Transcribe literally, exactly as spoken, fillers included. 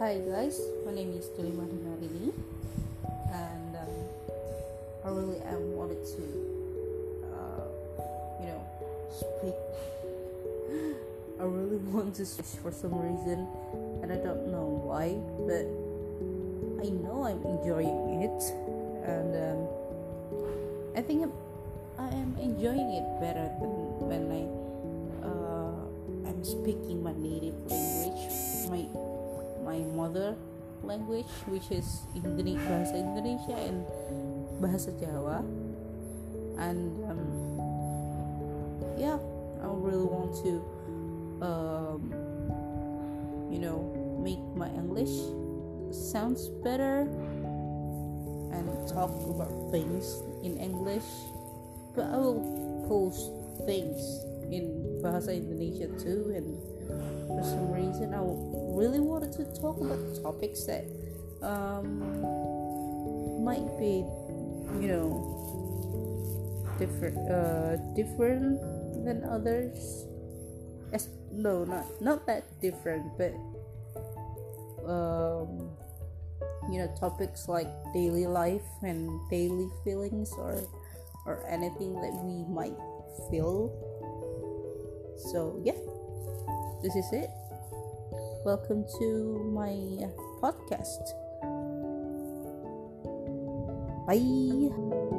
Hi guys, my name is Tulima Dinarini, and um, I really am wanted to, uh, you know, speak. I really want to speak for some reason, and I don't know why, but I know I'm enjoying it, and um, I think I'm, I am enjoying it better than when I uh, I'm speaking my native language, my my mother language, which is Indonesia, bahasa Indonesia and bahasa Jawa, and um, yeah, I really want to, um, you know, make my English sounds better and talk about things in English, but I will post things in bahasa Indonesia too, and for some reason I really wanted to talk about topics that um, might be, you know, different uh, different than others. As, no, not not that different, but um, you know, topics like daily life and daily feelings, or or anything that we might feel. So yeah, this is it. Welcome to my podcast. Bye.